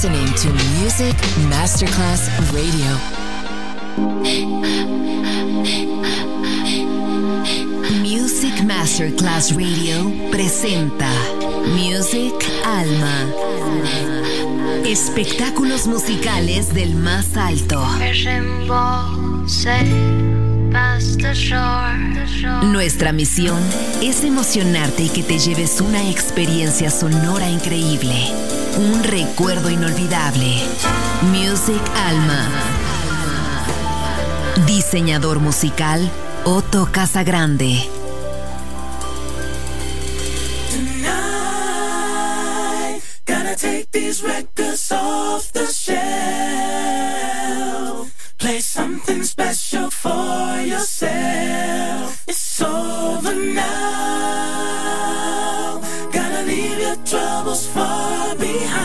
listening to Music Masterclass Radio. Music Masterclass Radio presenta Music Alma. Espectáculos musicales del más alto. Nuestra misión es emocionarte y que te lleves una experiencia sonora increíble, un recuerdo inolvidable. Music Alma. Diseñador musical Otto Casagrande. Tonight, gotta take these records off the shelf. Play something special for yourself. It's over now. Gotta leave your troubles far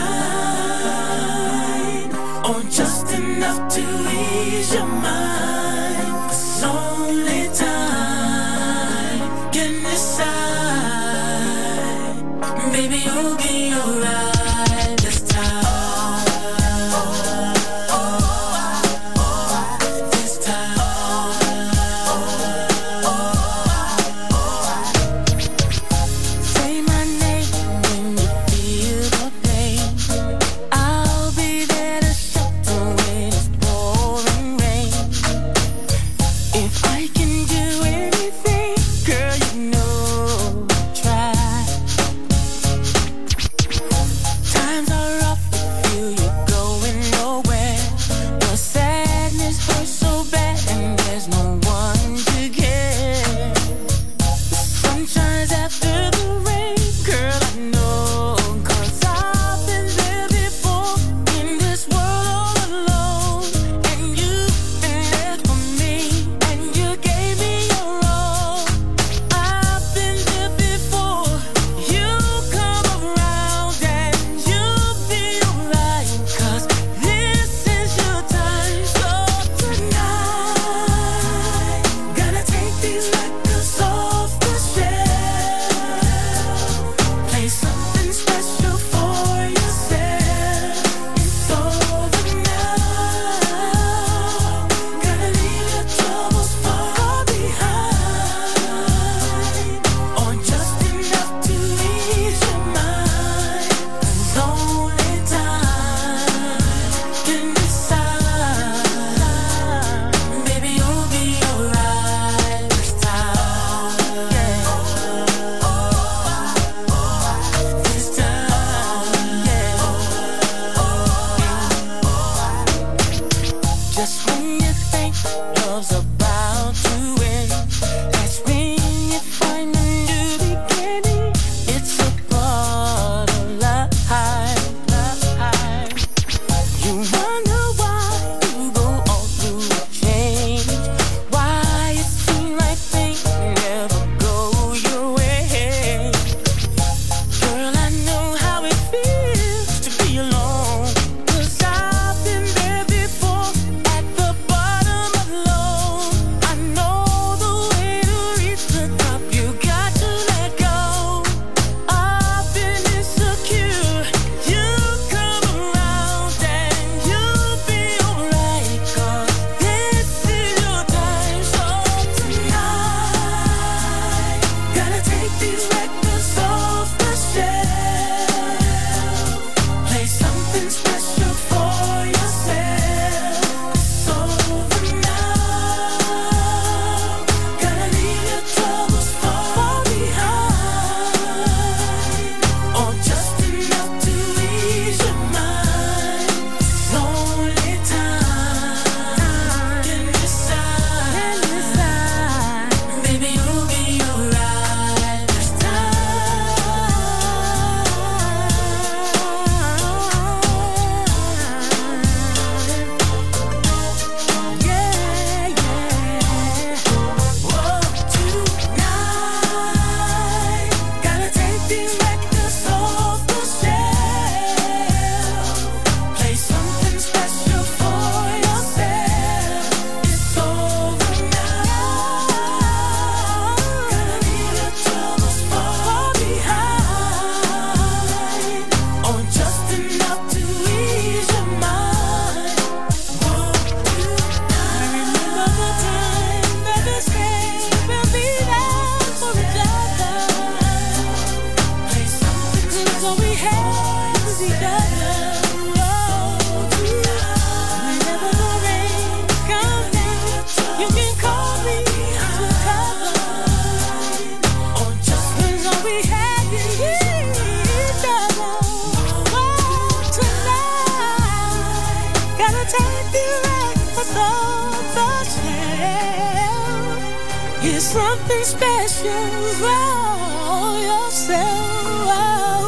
behind, or just enough to ease your mind. It's only time can decide. Baby, you'll be alright this time. 'cause all we had was each other. Whenever the rain comes down, you can call me to cover. Or just 'cause all we had was each other. Tonight, gotta take the right for the shell. It's something special for yourself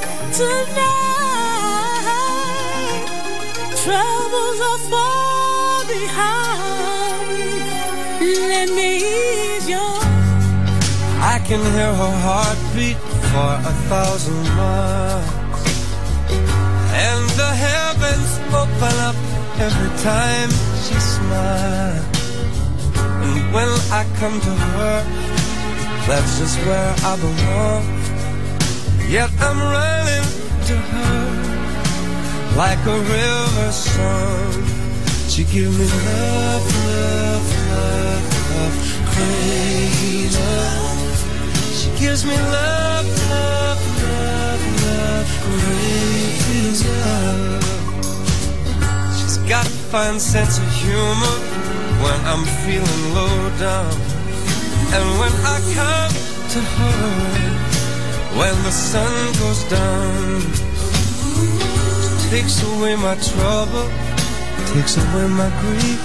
tonight. Troubles are far behind. Let me ease your. I can hear her heartbeat for 1,000 miles, and the heavens open up every time she smiles. And when I come to her, that's just where I belong. Yet I'm running to her like a river song. She gives me love, love, love, love, crazy love. She gives me love, love, love, love, crazy love. She's got a fine sense of humor when I'm feeling low down. And when I come to her, when the sun goes down, she takes away my trouble, takes away my grief,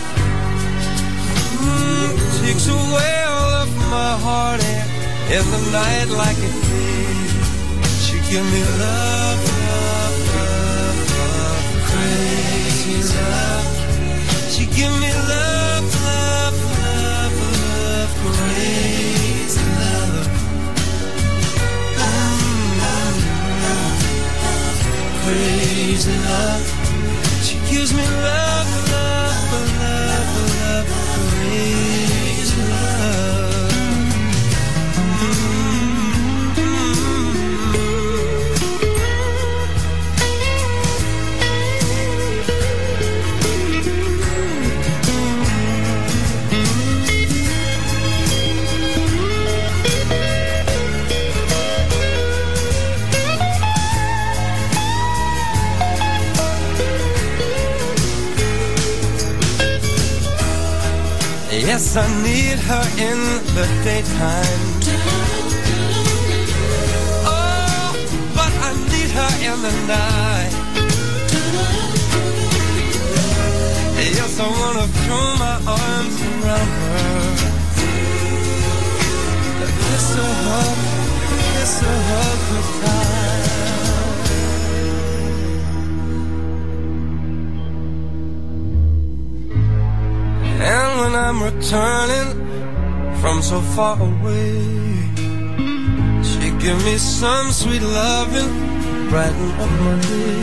takes away all of my heartache in the night like a thief. She give me love, love, love, love, crazy love. She give me love, love, love, love, crazy love. Crazy love. She gives me love, love, love, love, crazy love. Yes, I need her in the daytime. Oh, but I need her in the night. Yes, I wanna throw my arms around her, kiss her, hug her tight. And when I'm returning from so far away, she give me some sweet loving, brighten up my day.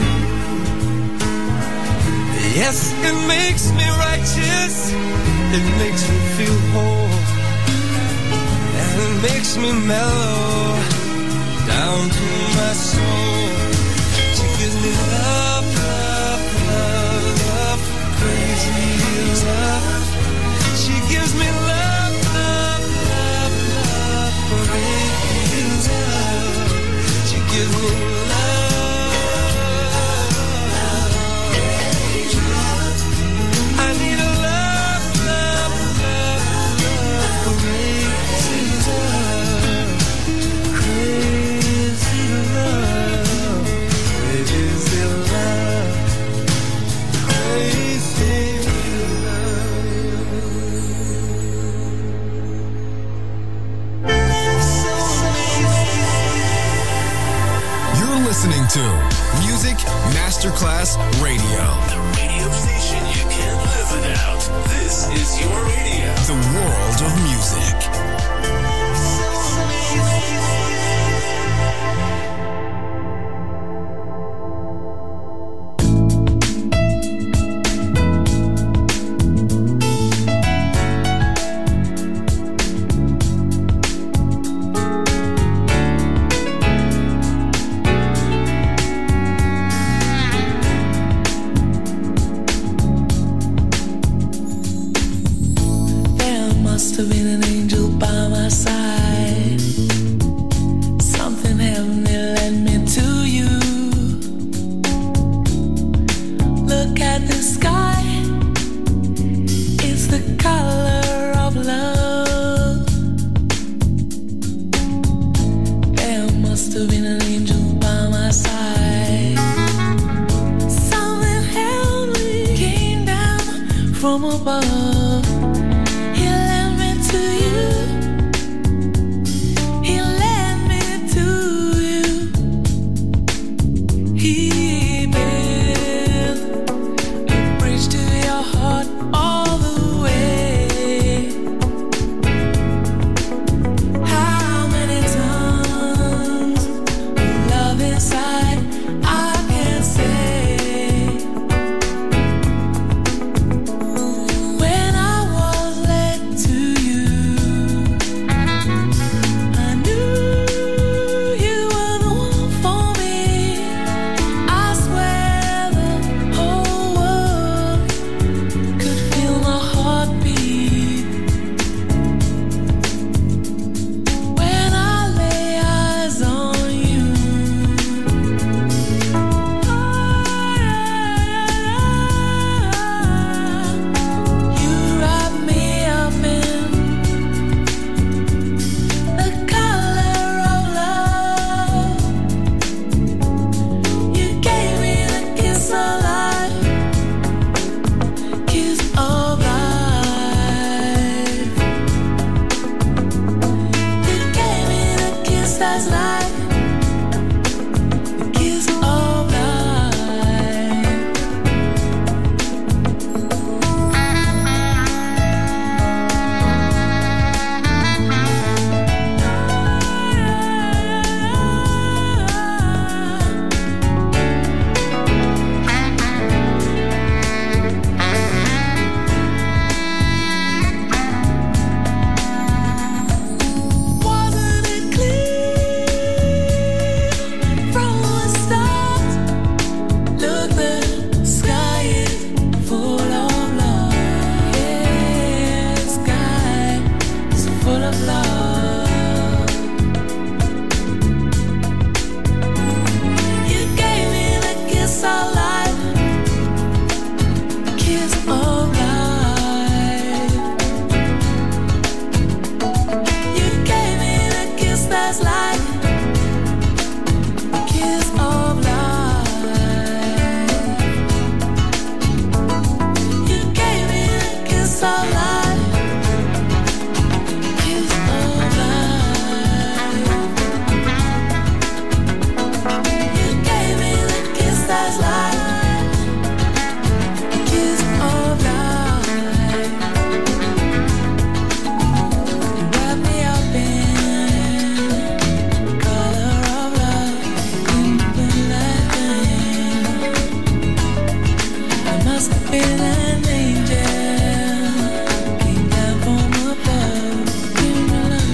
Yes, it makes me righteous, it makes me feel whole, and it makes me mellow down to my soul. She gives me love, love, love, love, crazy love. She gives me love, love, love, love, crazy love. She gives me love, crazy love. I need a love, love, love, love, crazy love, crazy love, crazy love, crazy listening to Music Masterclass Radio. The radio station you can't live without. This is your radio. The world of music. Must have been an angel by from above. He led me to you. He led me to you. He built a bridge to your heart all the way. How many tons of love inside I can't say. When I was led to you, I knew you were the one for me. I swear the whole world could feel my heartbeat when I lay eyes on you. You wrap me up in the color of love. You gave me the kiss of life, kiss of life. You gave me the kiss that's life, the kiss of life. Wasn't it clear from the start? Look, the sky is full of love. Yeah, the sky is full of love. You gave me the kiss of life, kiss of life. You gave me the kiss that's life, kiss of life. You gave me the kiss of life, kiss of life. You gave me the kiss that's life, kiss of life. You wrap me up in color of love, open like rain. I must have been an angel, came down from above, give me love.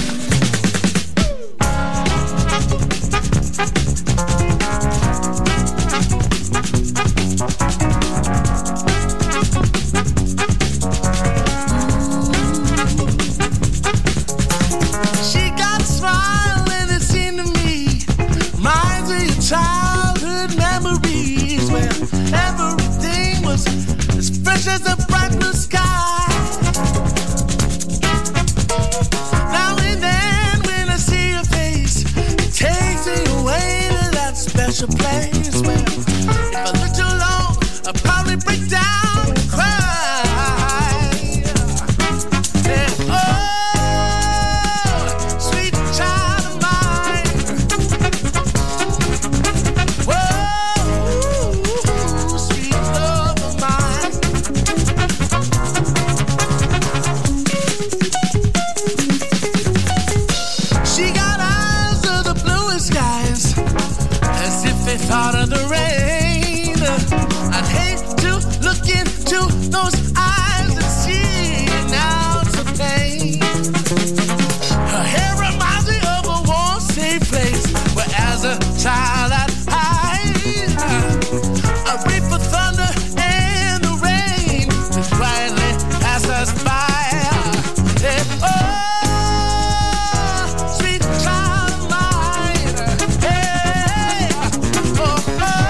She got a smile and it seemed to me reminds of your childhood memories where everything was as fresh as the bright blue sky. Now and then when I see your face, it takes me away to that special place where if I let you alone, I'd probably break down and cry. Yeah, oh, sweet child of mine. Whoa, sweet love of mine. She got eyes of the bluest skies, as if they thought of the rain. I'd hate to look into those eyes and see an ounce of pain. Her hair reminds me of a warm, safe place where as a child I'd hide. I wait for thunder and the rain to quietly pass us by. Yeah, oh, sweet child of mine. Hey, oh, oh.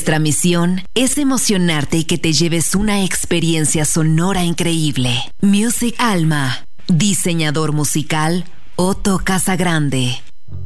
Nuestra misión es emocionarte y que te lleves una experiencia sonora increíble. Music Alma. Diseñador musical Otto Casagrande.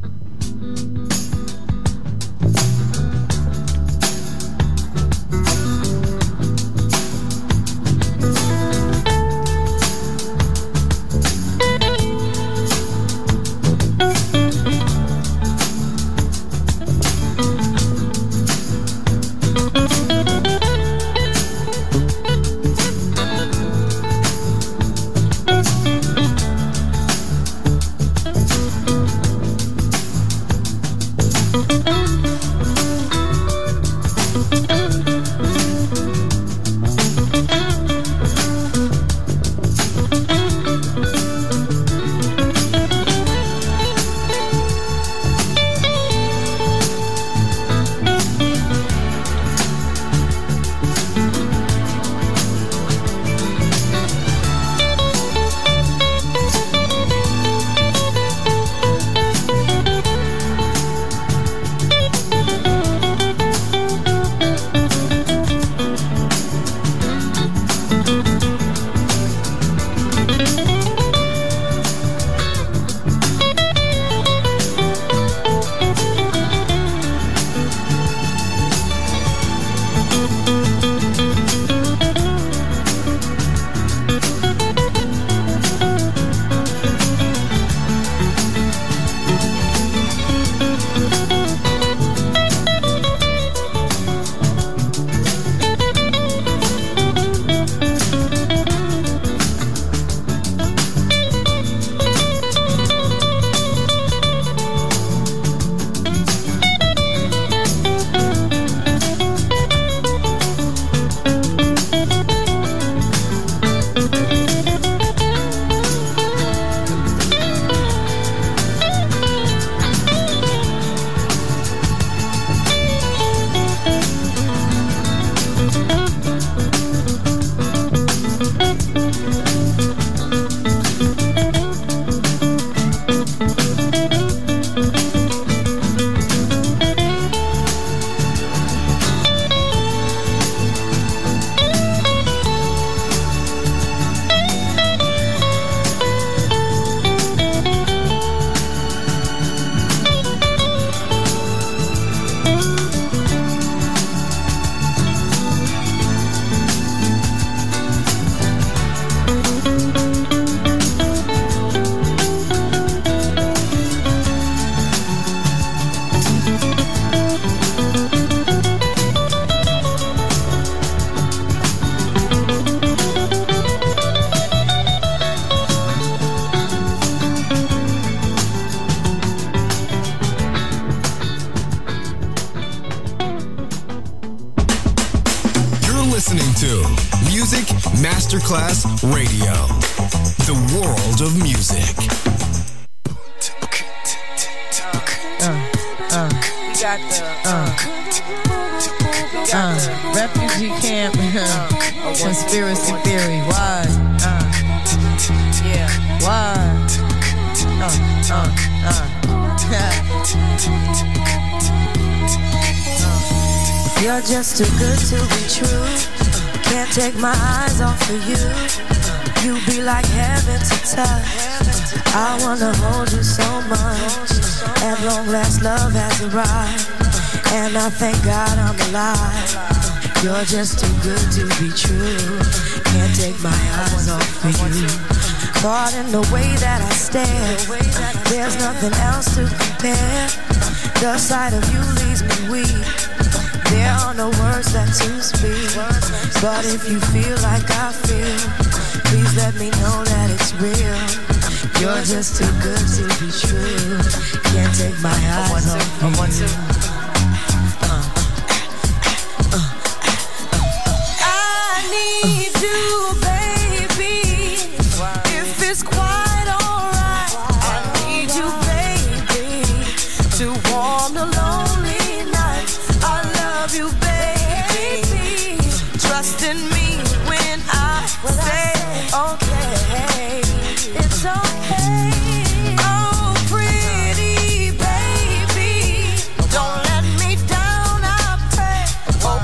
Masterclass Radio, the world of music. Refugee camp, conspiracy theory. Why? Why? You're just too good to be true. Can't take my eyes off of you. You be like heaven to touch. I wanna hold you so much. At long last love has arrived, and I thank God I'm alive. You're just too good to be true. Can't take my eyes off of you. Caught in the way that I stare, there's nothing else to compare. The sight of you leaves me weak. There are no words that to speak, but if you feel like I feel, please let me know that it's real. You're just too good to be true. Can't take my eyes off you. I need you, baby. If it's quite alright, I need you, baby, to warm the lonely nights. I love you, baby. Trust in me when I say okay. It's okay. Oh, pretty baby, don't let me down, I pray. Oh,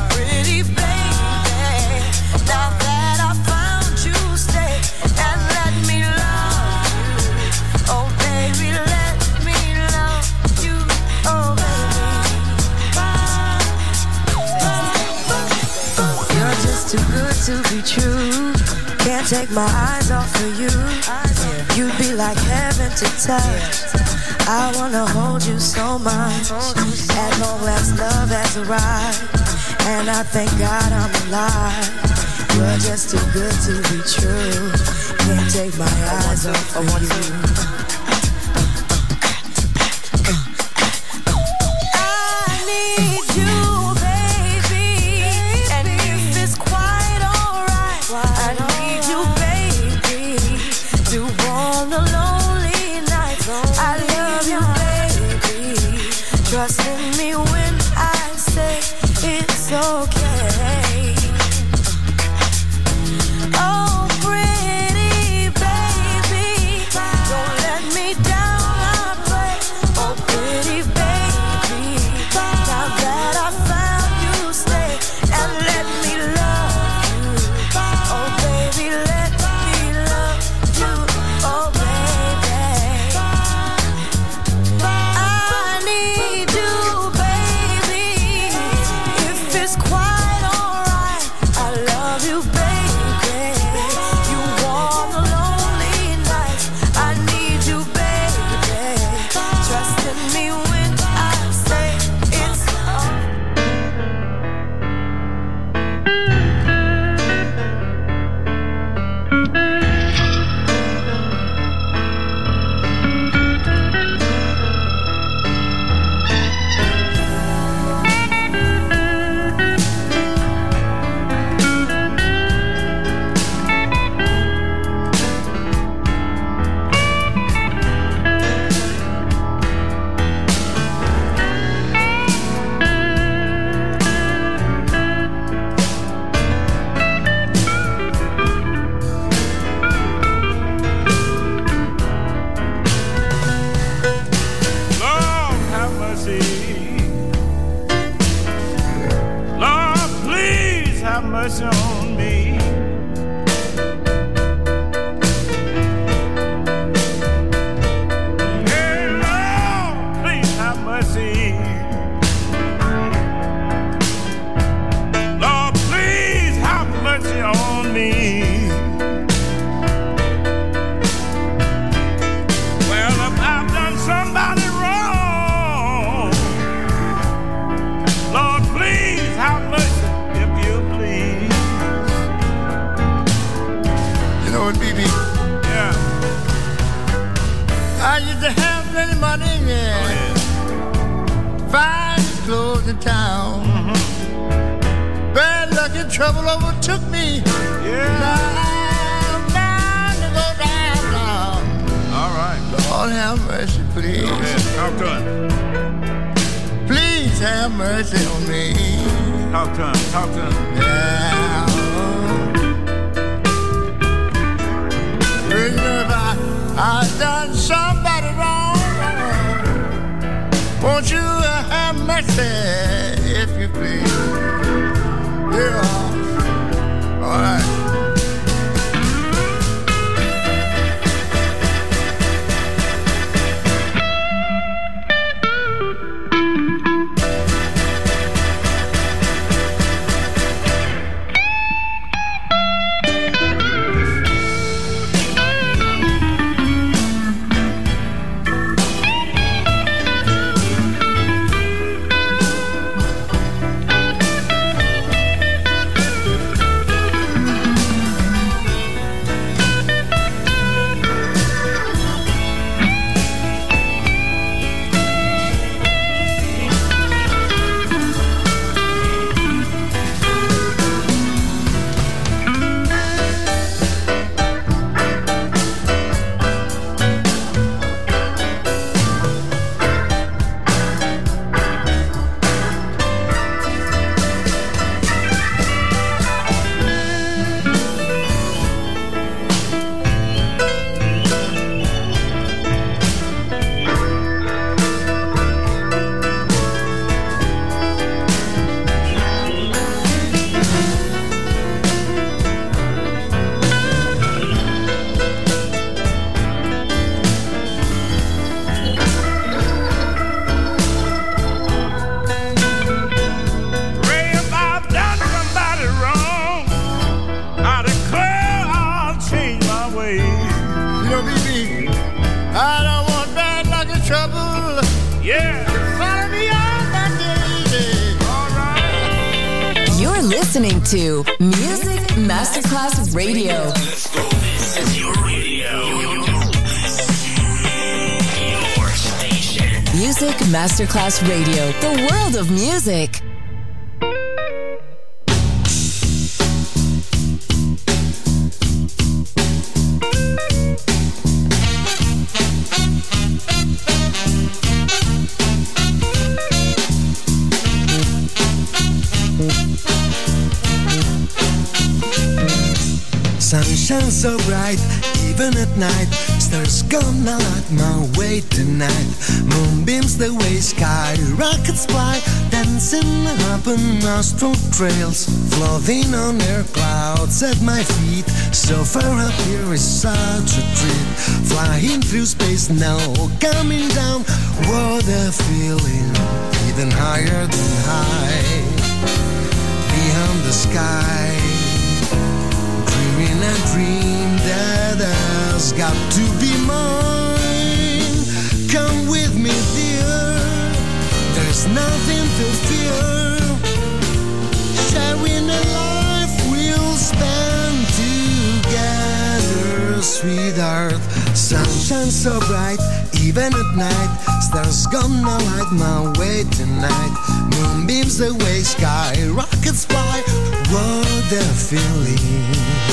just too good to be true. Can't take my eyes off of you. You'd be like heaven to touch. I wanna hold you so much. At long last, love has arrived, and I thank God I'm alive. You're just too good to be true. Can't take my eyes off of you. Trust in me when I say it's okay. Oh, pretty baby, don't let me down, I pray. Oh, pretty baby, now that I found you, stay and let me love you. Oh, baby, let me love you. Oh, baby, I need you, baby. If it's quite alright, I love you, baby. You warm the lonely nights. I need you, baby. Trust in me when I say it's Lord, have mercy. Lord, please have mercy on me. Hey, Lord, please have mercy. Lord, please have mercy on me. Well, if I've done somebody wrong, Lord, please have mercy, if you please. You know what, BB? Yeah. I used to have plenty money, yeah. Oh, yeah. Fine clothes in town. Bad luck and trouble overtook me. Yeah. Now I'm bound to go down. All right. Lord have mercy, please. Go ahead. Talk to him. Please have mercy on me. Talk to him. Talk to him. Yeah. Well, you know, if I done somebody wrong, won't you have mercy, if you please? Yeah. All right. listening to Music Masterclass Radio. Let's go. This is your radio. Your station. Music Masterclass Radio. The world of music. Sunshine so bright, even at night. Stars gonna light my way tonight. Moonbeams the way sky, rockets fly, dancing up on astral trails, floating on air clouds at my feet. So far up here is such a treat. Flying through space now, coming down. What a feeling, even higher than high. Beyond the sky, dreaming a dream that has got to be mine. Come with me, dear, there's nothing to fear. Sharing a life we'll spend together, sweetheart. Sunshine so bright, even at night. Stars gonna light my way tonight. Moonbeams the way sky, rockets fly. What a feeling.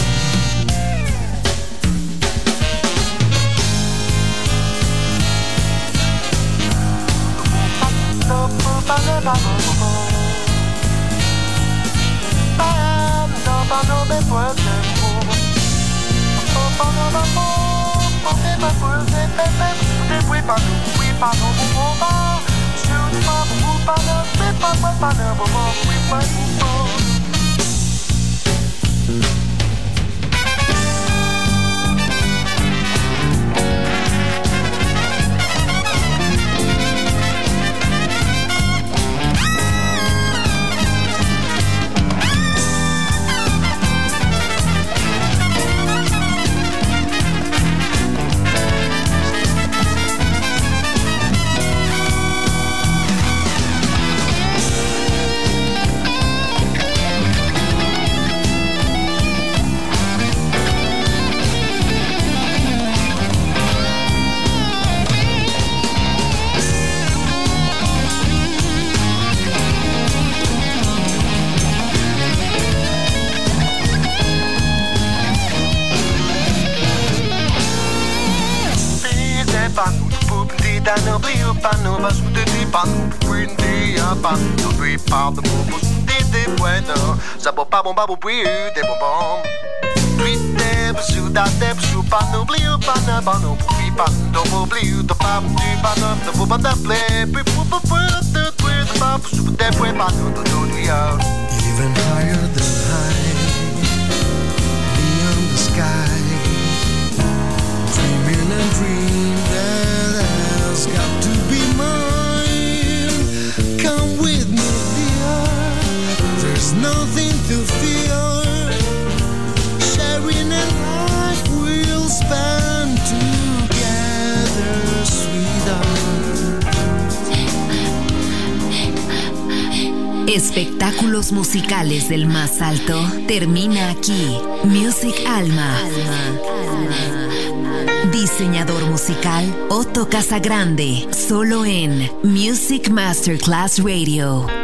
Even higher than high, beyond the sky, dreaming a dream that has got to be mine. Come with me, dear, there's nothing to fear. Sharing a life we'll spend together, sweetheart. Espectáculos musicales del más alto termina aquí. Music Alma. Diseñador musical Otto Casagrande, solo en Music Masterclass Radio.